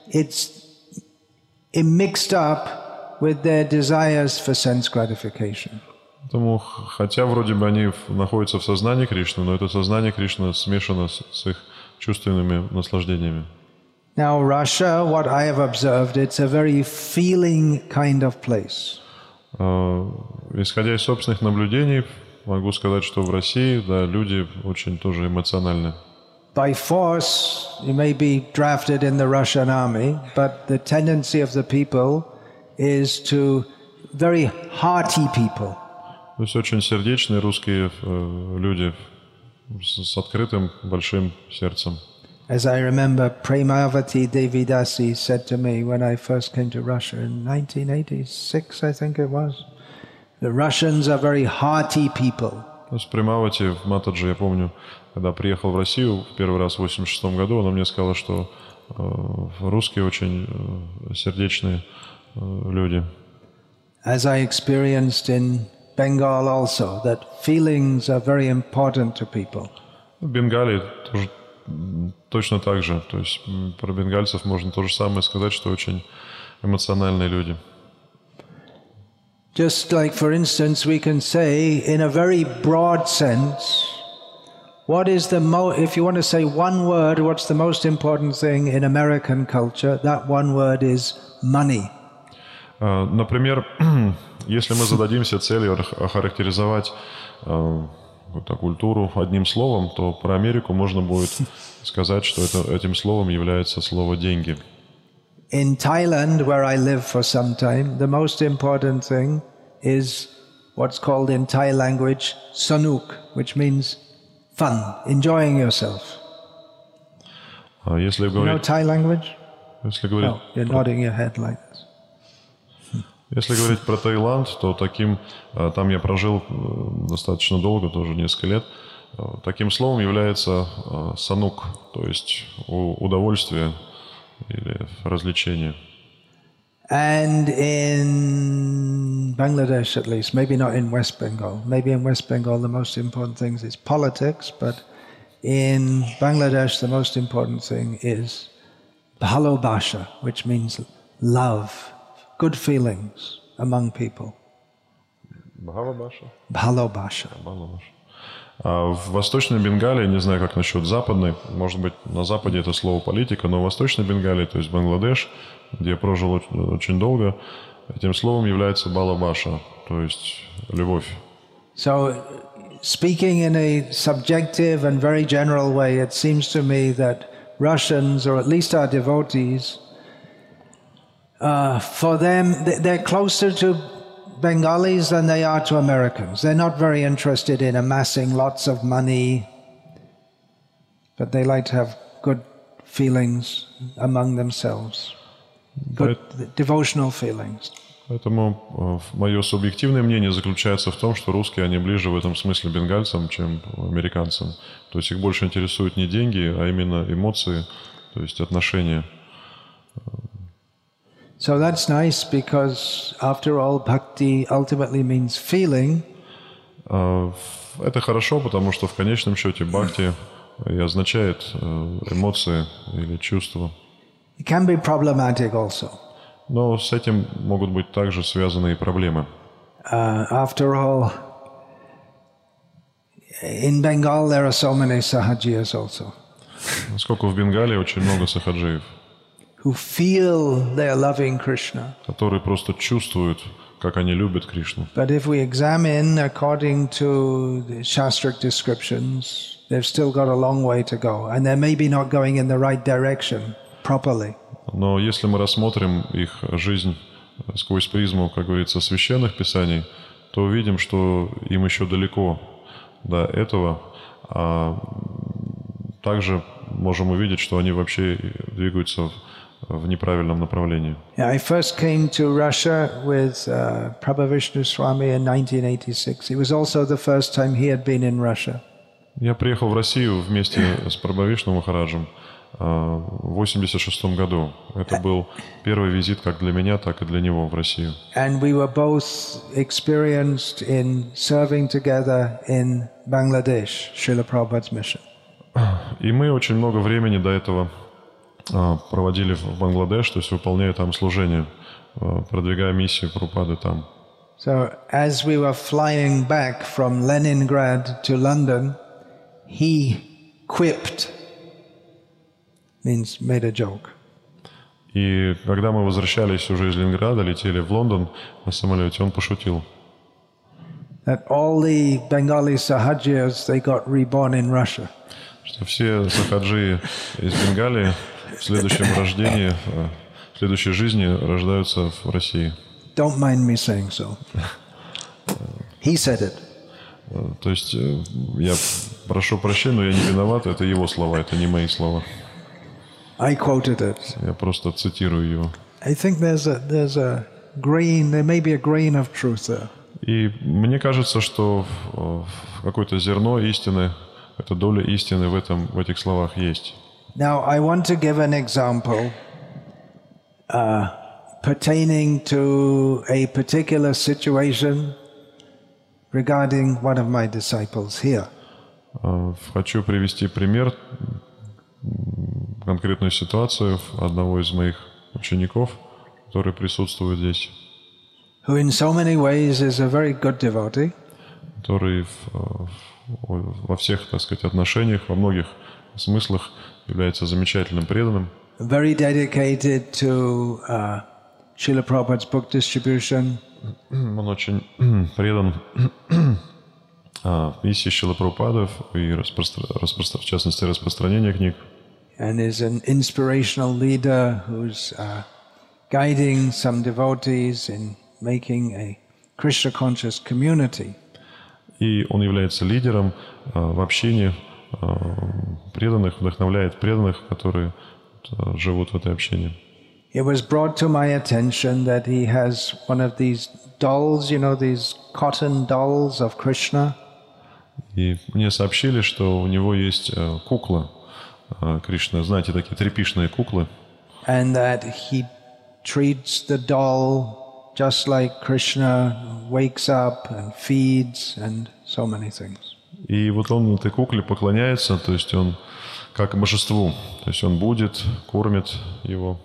mixed up with their desires for sense gratification. Поэтому, хотя вроде бы они находятся в сознании Кришны, но это сознание Кришны смешано с их чувственными наслаждениями. Now Russia, what I have observed, it's a very feeling kind of place. Исходя из собственных наблюдений, могу сказать, что в России, да, люди очень тоже эмоциональны. by force, you may be drafted in the Russian army, but the tendency of the people is to very hearty people. То есть очень сердечные русские люди с открытым большим сердцем. As I remember, Premavati Devidasi said to me when I first came to Russia in 1986, I think it was, the Russians are very hearty people. То есть Премавати в Матаджи, я помню, когда приехал в Россию в первый раз в 1986 году, она мне сказала, что русские очень сердечные люди. As I experienced in Bengal also, that feelings are very important to people. В Бенгалии тоже точно так же. То есть про бенгальцев можно то же самое сказать, что очень эмоциональные люди. Just like, for instance, we can say, in a very broad sense, what is the if you want to say one word, what's the most important thing in American culture? That one word is money. Например, если мы зададимся целью охарактеризовать культуру одним словом, то про Америку можно будет сказать, что этим словом является слово «деньги». In Thailand, where I lived for some time, the most important thing is what's called in Thai language sanuk, which means fun, enjoying yourself. Если you know Thai language? Если говорить, no, you're nodding your head like this. Если говорить про Таиланд, то там я прожил достаточно долго, тоже несколько лет. Таким словом является санук, то есть удовольствие или развлечение. And in Bangladesh, at least, maybe not in West Bengal. Maybe in West Bengal the most important thing is politics, but in Bangladesh the most important thing is bhalobasha, which means love, good feelings among people. Bhalobasha? Bhalobasha. А в Восточной Бенгалии, не знаю, как насчет Западной, может быть, на Западе это слово политика, но в Восточной Бенгалии, то есть Бангладеш, где я прожил очень долго, этим словом является балабаша, то есть любовь. So, speaking in a subjective and very general way, it seems to me that Russians, or at least our devotees, for them, they're closer to Bengalis than they are to Americans. They're not very interested in amassing lots of money, but they like to have good feelings among themselves, good devotional feelings. Поэтому мое субъективное мнение заключается в том, что русские, они ближе в этом смысле бенгальцам, чем американцам. То есть их больше интересуют не деньги, а именно эмоции, то есть отношения. So that's nice because, after all, bhakti ultimately means feeling. Это хорошо, потому что в конечном счете бхакти и означает эмоции или чувства. It can be problematic also. Но с этим могут быть также связаны и проблемы. After all, in Bengal there are so many sahajiyas also. Поскольку в Бенгалии очень много сахаджиев, who feel they are loving Krishna. Которые просто чувствуют, как они любят Кришну. But if we examine according to the shastric descriptions, they've still got a long way to go, and they're maybe not going in the right direction properly. Но если мы рассмотрим их жизнь сквозь призму, как говорится, священных писаний, то увидим, что им еще далеко до этого. А также можем увидеть, что они вообще двигаются в неправильном направлении. I first came to Russia with Prabhavishnu Swami in 1986. It was also the first time he had been in Russia. Я приехал в Россию вместе с Прабхавишну Махараджем в 1986 году. Это был первый визит как для меня, так и для него в Россию. And we were both experienced in serving together in Bangladesh, Srila Prabhupada's mission. И мы очень много времени до этого проводили в Бангладеш, то есть выполняя там служение, продвигая миссию Прабхупады там. So as we were flying back from Leningrad to London, he quipped, means made a joke. И когда мы возвращались уже из Ленинграда, летели в Лондон на самолете, он пошутил. That all the Bengali Sahajiyas, they got reborn in Russia. что все сахаджи из Бенгалии в следующем рождении, в следующей жизни рождаются в России. Don't mind me saying so. He said it. То есть я прошу прощения, но я не виноват, это его слова, это не мои слова. I quoted it. Я просто цитирую его. I think there may be a grain of truth there. И мне кажется, что какое-то зерно истины, эта доля истины в этих словах есть. Now, I want to give an example pertaining to a particular situation regarding one of my disciples here. Хочу привести пример, конкретную ситуацию одного из моих учеников, который присутствует здесь. Who in so many ways is a very good devotee. Который во всех, так сказать, отношениях, во многих смыслах является замечательным преданным. Very dedicated to Srila Prabhupada's book distribution. Он очень предан миссии Шрилы Прабхупады и, в частности, распространению книг. And is an inspirational leader who's guiding some devotees in making a Krishna-conscious community. И он является лидером в общении преданных, вдохновляет преданных, которые живут в этой общине. It was brought to my attention that he has one of these dolls, you know, these cotton dolls of Krishna. И мне сообщили, что у него есть кукла Кришны, знаете, такие тряпичные куклы. And that he treats the doll just like Krishna wakes up and feeds and so many things. И вот он этой кукле поклоняется, то есть он как божеству, то есть он будет, кормит его.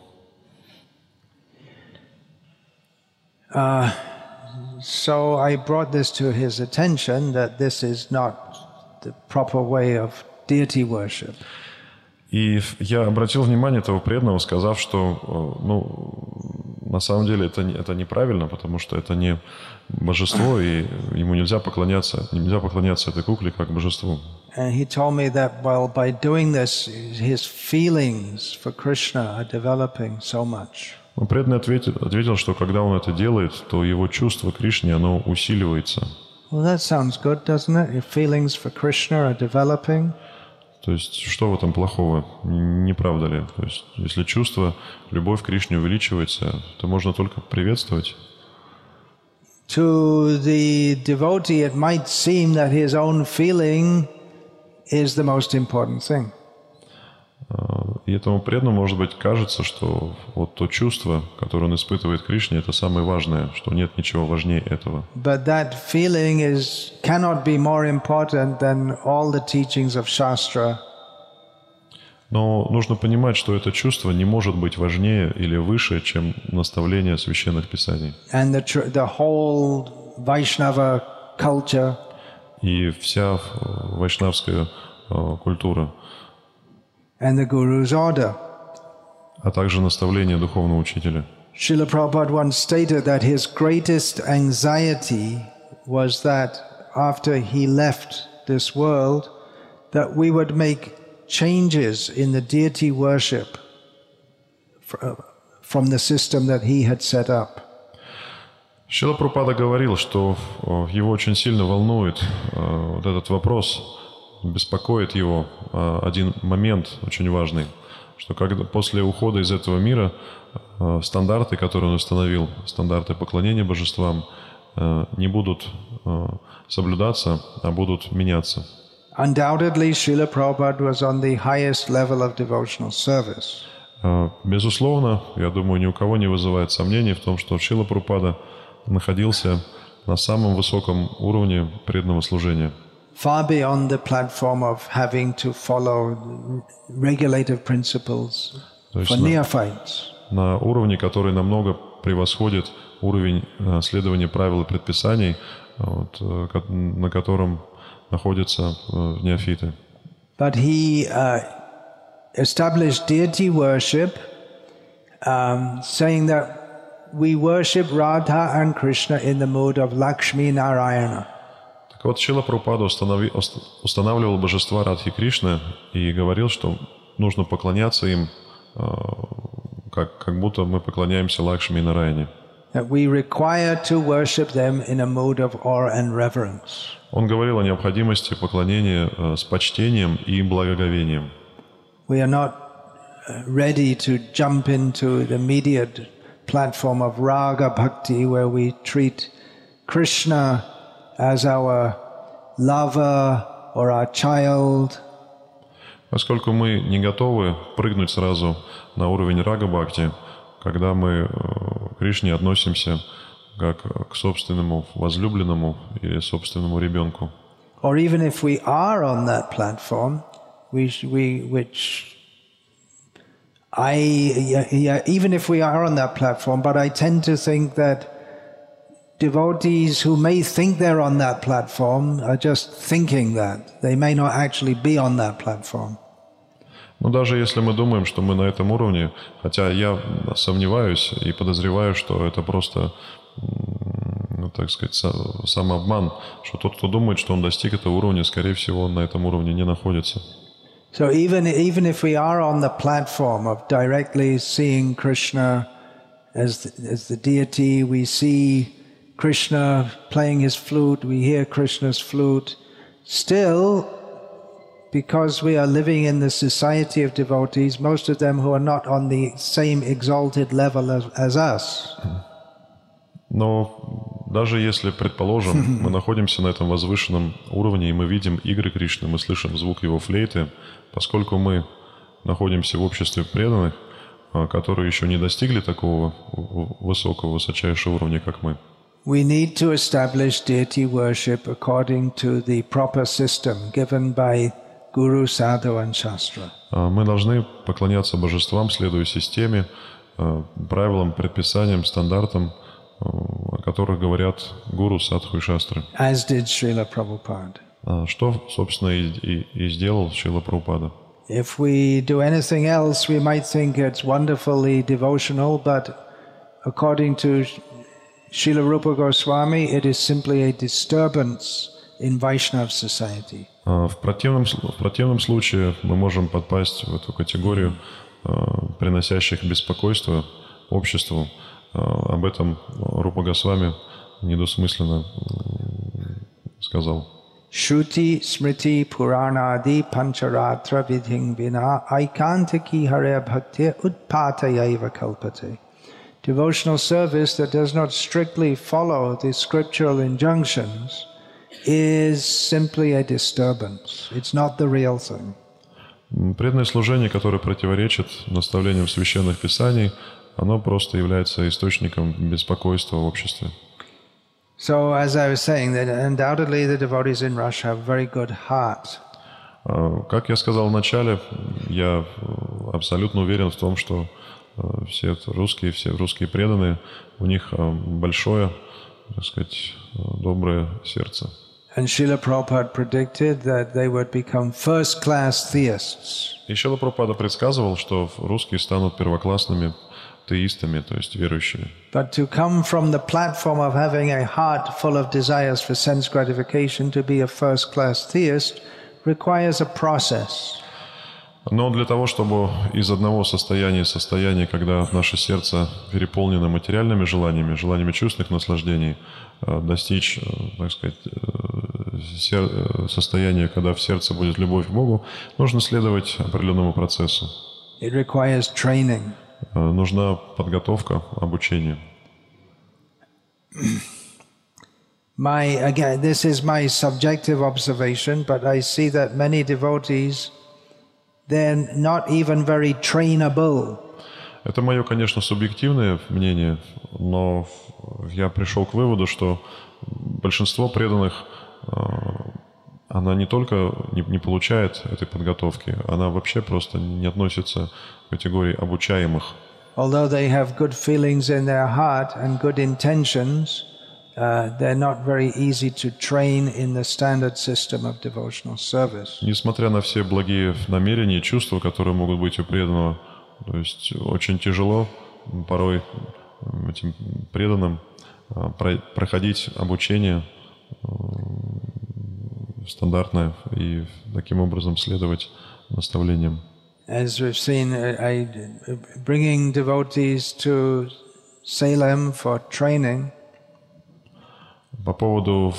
So I brought this to his attention that this is not the proper way of deity worship. И я обратил внимание этого преданного, сказав, что на самом деле это неправильно, потому что это не божество, и ему нельзя поклоняться этой кукле как божеству. And he told me that by doing this, his feelings for Krishna are developing so much. Но преданный ответил, что когда он это делает, то его чувство к Кришне, оно усиливается. Well, that sounds good, doesn't it? Your feelings for Krishna are developing. То есть, что в этом плохого? Не правда ли? То есть, если чувство, любовь к Кришне увеличивается, то можно только приветствовать. To the devotee, it might seem that his own feeling is the most important thing. И этому преданному, может быть, кажется, что вот то чувство, которое он испытывает к Кришне, это самое важное, что нет ничего важнее этого. But that feeling cannot be more important than all the teachings of Shastra. Но нужно понимать, что это чувство не может быть важнее или выше, чем наставление священных писаний. And the whole Vaishnava culture. И вся вайшнавская культура. And the Guru's order. А также наставление духовного учителя. Srila Prabhupada once stated that his greatest anxiety was that after he left this world, that we would make changes in the deity worship from the system that he had set up. Шрила Прабхупада говорил, что его очень сильно волнует вот этот вопрос, беспокоит его один момент очень важный, что когда после ухода из этого мира стандарты, которые он установил, стандарты поклонения божествам, не будут соблюдаться, а будут меняться. Undoubtedly, Srila Prabhupada was on the highest level of devotional service. Безусловно, я думаю, ни у кого не вызывает сомнений в том, что Шрила Прабхупада находился на самом высоком уровне преданного служения. Far beyond the platform of having to follow regulative principles for neophytes. На уровне, который намного превосходит уровень следования правил и предписаний, на котором находятся неофиты. But he established deity worship, saying that we worship Radha and Krishna in the mood of Lakshmi Narayana. Так вот, Шрила Прабхупада устанавливал божества Радхи Кришны и говорил, что нужно поклоняться им, как будто мы поклоняемся Лакшми и Нараяне. That we require to worship them in a mood of awe and reverence. Он говорил о необходимости поклонения с почтением и благоговением. We are not ready to jump into the immediate platform of raga bhakti, where we treat Krishna as our lover or our child. Поскольку мы не готовы прыгнуть сразу на уровень рага-бхакти, когда мы к Кришне относимся как к собственному возлюбленному или собственному ребенку. Or even if we are on that platform, even if we are on that platform, but I tend to think that devotees who may think they're on that platform are just thinking that. They may not actually be on that platform. Но даже если мы думаем, что мы на этом уровне, хотя я сомневаюсь и подозреваю, что это просто, так сказать, самообман, что тот, кто думает, что он достиг этого уровня, скорее всего, он на этом уровне не находится. So even if we are on the platform of directly seeing Krishna as the deity, we see Krishna playing his flute, we hear Krishna's flute, still, because we are living in the society of devotees, most of them who are not on the same exalted level as us. Но даже если, предположим, мы находимся на этом возвышенном уровне, и мы видим игры Кришны, мы слышим звук его флейты, поскольку мы находимся в обществе преданных, которые еще не достигли такого высокого, высочайшего уровня, как мы, we need to establish deity worship according to the proper system given by Guru, Sadhu and Shastra. Мы должны поклоняться божествам, следуя системе, правилам, предписаниям, стандартам, о которых говорят Гуру, Садху и Шастры. As did Srila Prabhupada. Что, собственно, и сделал Шрила Прабхупада. If we do anything else, we might think it's wonderfully devotional, but according to Srila Rupa Goswami, it is simply a disturbance in Vaishnava society. В противном случае мы можем подпасть в эту категорию приносящих беспокойство обществу. Об этом Рупа Госвами недвусмысленно сказал. Shruti smriti puranadi pancharatra vidhing vina aikantaki hare bhakti utpatayaiva kalpate. Devotional service that does not strictly follow the scriptural injunctions is simply a disturbance. It's not the real thing. Преданное служение, которое противоречит наставлениям священных писаний, оно просто является источником беспокойства в обществе. So, as I was saying, that undoubtedly the devotees in Russia have a very good heart. Как я сказал в начале, я абсолютно уверен в том, что все русские преданные, у них большое, так сказать, доброе сердце. And Srila Prabhupada predicted that they would become first-class theists. И Шрила Прабхупада предсказывал, что русские станут первоклассными теистами, то есть верующими. But to come from the platform of having a heart full of desires for sense gratification to be a first-class theist requires a process. Но для того, чтобы из одного состояния, когда наше сердце переполнено материальными желаниями чувственных наслаждений, достичь, так сказать, состояния, когда в сердце будет любовь к Богу, нужно следовать определенному процессу. It requires training. Нужна подготовка, обучение. Again, this is my subjective observation, but I see that many devotees, they're not even very trainable. Это мое, конечно, субъективное мнение, но я пришел к выводу, что большинство преданных, она не только не получает этой подготовки, она вообще просто не относится к категории обучаемых. Although they have good feelings in their heart and good intentions, they're not very easy to train in the standard system of devotional service. Несмотря на все благие намерения и чувства, которые могут быть у преданного, то есть очень тяжело порой этим преданным проходить обучение стандартное и таким образом следовать наставлениям. As we've seen, bringing devotees to Salem for training. По поводу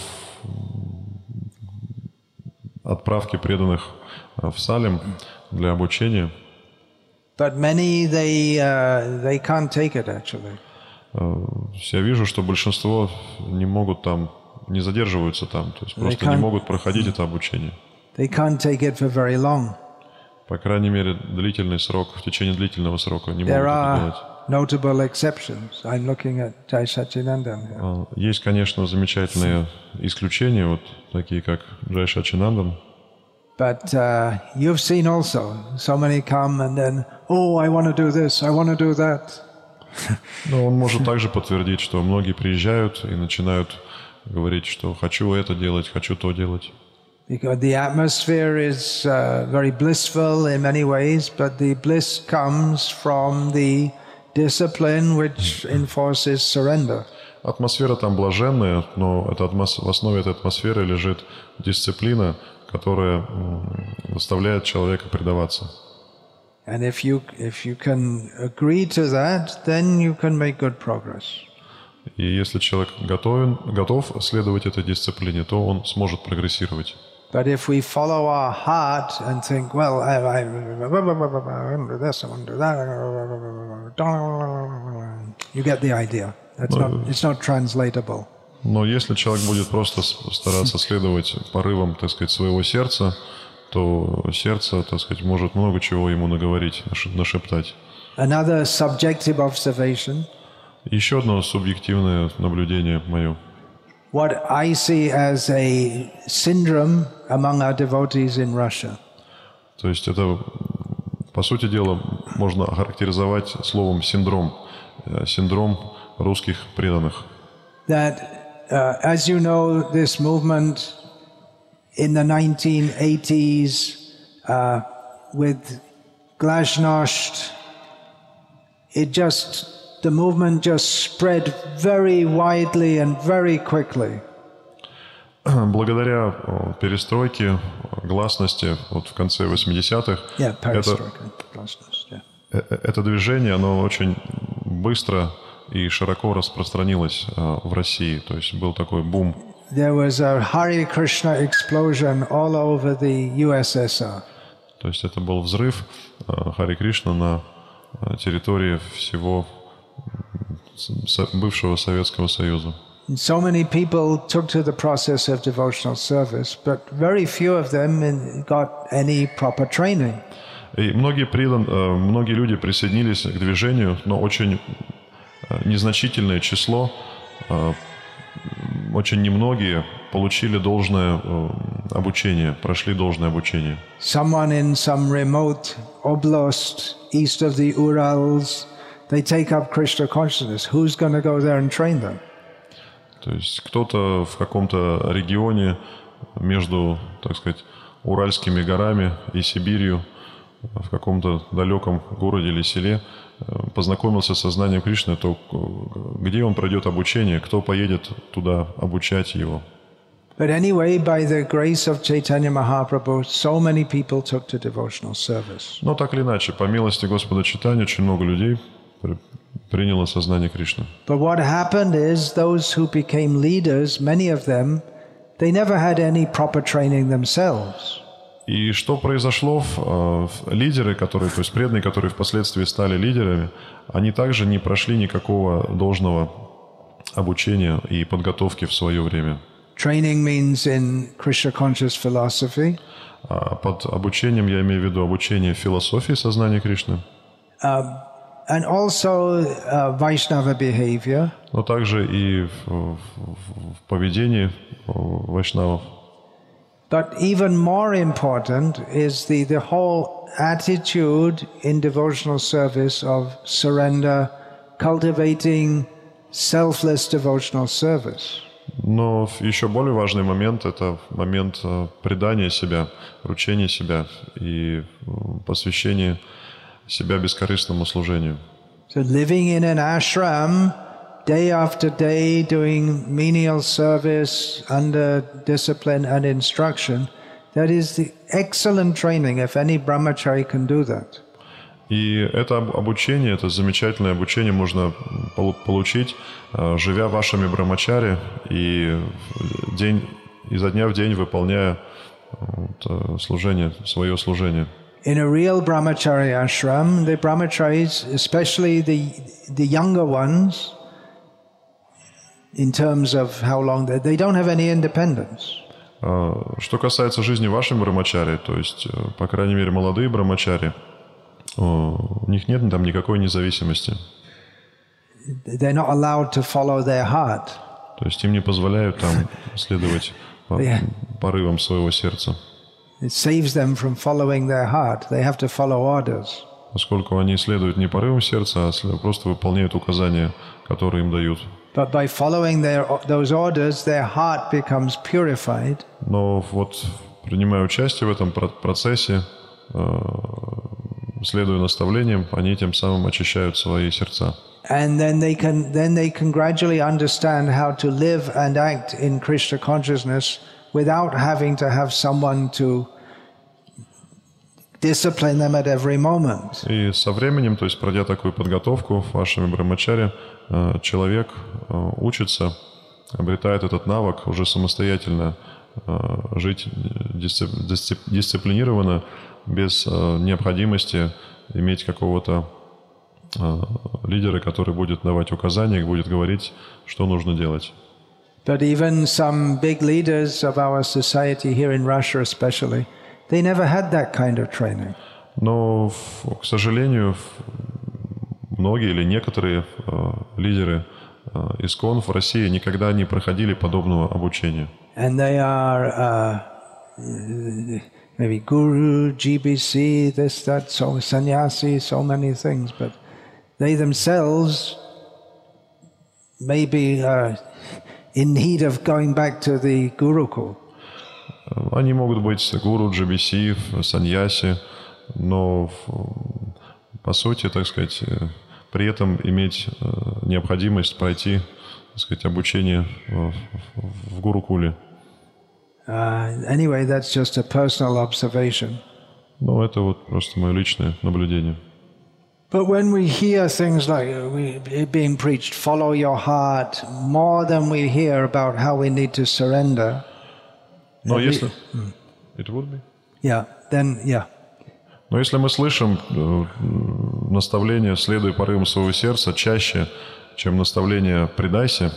отправки преданных в Салем для обучения. But many they can't take it actually. Я вижу, что большинство не могут там, не задерживаются там, то есть просто не могут проходить это обучение. They can't take it for very long. По крайней мере, длительный срок, в течение длительного срока не могут это делать. Notable exceptions. I'm looking at Jai Sachidnandan. Есть, конечно, замечательные исключения, вот такие как Джай Сачинандан. But you've seen also so many come and then, oh, I want to do this, I want to do that. Но он может также подтвердить, что многие приезжают и начинают говорить, что хочу это делать, хочу то делать. Because the atmosphere is very blissful in many ways, but the bliss comes from the discipline which enforces surrender. Атмосфера там блаженная, но в основе этой атмосферы лежит дисциплина, которая заставляет человека предаваться. And if you can agree to that, then you can make good progress. И если человек готов следовать этой дисциплине, то он сможет прогрессировать. But if we follow our heart and think, well, I want to do this, I want to do that, you get the idea. It's not translatable. Но если человек будет просто стараться следовать порывам, так сказать, своего сердца, то сердце, так сказать, может много чего ему наговорить, нашептать. Another subjective observation. Еще одно субъективное наблюдение мое. What I see as a syndrome among our devotees in Russia. То есть это, по сути дела, можно охарактеризовать словом синдром русских преданных. That, as you know, this movement in the 1980s with Glasnost, the movement just spread very widely and very quickly. Благодаря перестройке, гласности, вот в конце 80-х, это движение, оно очень быстро и широко распространилось в России. То есть был такой бум. There was a Hare Krishna explosion all over the USSR. То есть это был взрыв Харе Кришна на территории всего бывшего Советского Союза. So many people took to the process of devotional service, but very few of them got any proper training. И многие люди присоединились к движению, но очень незначительное число, очень немногие получили должное обучение, прошли должное обучение. Someone in some remote oblast east of the Urals, they take up Krishna consciousness. Who's going to go there and train them? То есть кто-то в каком-то регионе между, так сказать, Уральскими горами и Сибирью, в каком-то далеком городе или селе, познакомился с сознанием Кришны, то где он пройдет обучение, кто поедет туда обучать его. But anyway, by the grace of Chaitanya Mahaprabhu, so many people took to devotional service. Но так или иначе, по милости Господа Чайтаньи, очень много людей приняло сознание Кришны. But what happened is those who became leaders, many of them, they never had any proper training themselves. И что произошло? Лидеры, то есть преданные, которые впоследствии стали лидерами, они также не прошли никакого должного обучения и подготовки в свое время. Training means in Krishna conscious philosophy. Под обучением я имею в виду обучение философии сознания Кришны. And also Vaishnava behavior. Но также и в поведении вайшнавов. But even more important is the whole attitude in devotional service of surrender, cultivating selfless devotional service. Но еще более важный момент – это момент предания себя, вручения себя и посвящения себя бескорыстному служению. So living in an ashram day after day doing menial service under discipline and instruction, that is the excellent training if any brahmachari can do that. И это обучение, это замечательное обучение можно получить, живя вашими брамачари и изо дня в день выполняя служение, свое служение. In a real brahmachari ashram, the brahmacharis, especially the younger ones, in terms of how long they don't have any independence. Что касается жизни вашей брамачари, то есть, по крайней мере, молодые брамачари, у них нет там никакой независимости. They're not allowed to follow their heart. То есть им не позволяют там следовать порывам своего сердца. It saves them from following their heart. They have to follow orders. Поскольку они следуют не порывам сердца, а просто выполняют указания, которые им дают. But by following those orders, their heart becomes purified. Но вот, принимая участие в этом процессе, следуя наставлениям, они тем самым очищают свои сердца. And then they can gradually understand how to live and act in Krishna consciousness without having to have someone to discipline them at every moment. И со временем, то есть пройдя такую подготовку вашими брамачари, человек учится, обретает этот навык уже самостоятельно жить дисциплинированно, без необходимости иметь какого-то лидера, который будет давать указания, будет говорить, что нужно делать. But even some big leaders of our society here in Russia especially, they never had that kind of training. Но, к сожалению, многие или некоторые лидеры ИСККОН в России никогда не проходили подобного обучения. And they are maybe guru, GBC, this, that, so sannyasi, so many things, but they themselves may be in need of going back to the Gurukul. Они могут быть гуру, GBC, саньяси, но по сути, так сказать, при этом иметь необходимость пройти, так сказать, обучение в Гурукуле. Anyway, that's just a personal observation. Ну, это вот просто мое личное наблюдение. But when we hear things like being preached, follow your heart, more than we hear about how we need to surrender. Но если... It would be? Yeah, then, yeah. Но если мы слышим наставление «следуй порывам своего сердца» чаще, чем наставление «предайся»,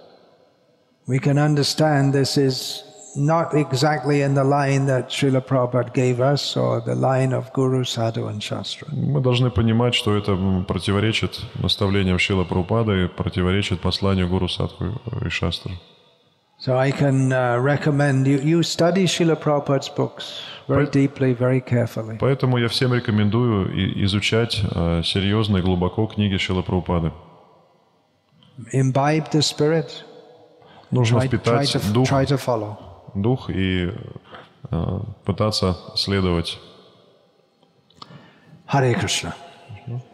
we can understand this is not exactly in the line that Srila Prabhupada gave us or the line of Guru, Sadhu and Shastra. мы должны понимать, что это противоречит наставлениям Шрила Прабхупады и противоречит посланию Гуру, Садху и Шастры. So I can recommend you study Srila Prabhupada's books very deeply, very carefully. Поэтому я всем рекомендую изучать серьезно и глубоко книги Шрилы Прабхупады. Imbibe the spirit. Нужно впитать try to follow. дух и пытаться следовать. Hare Krishna.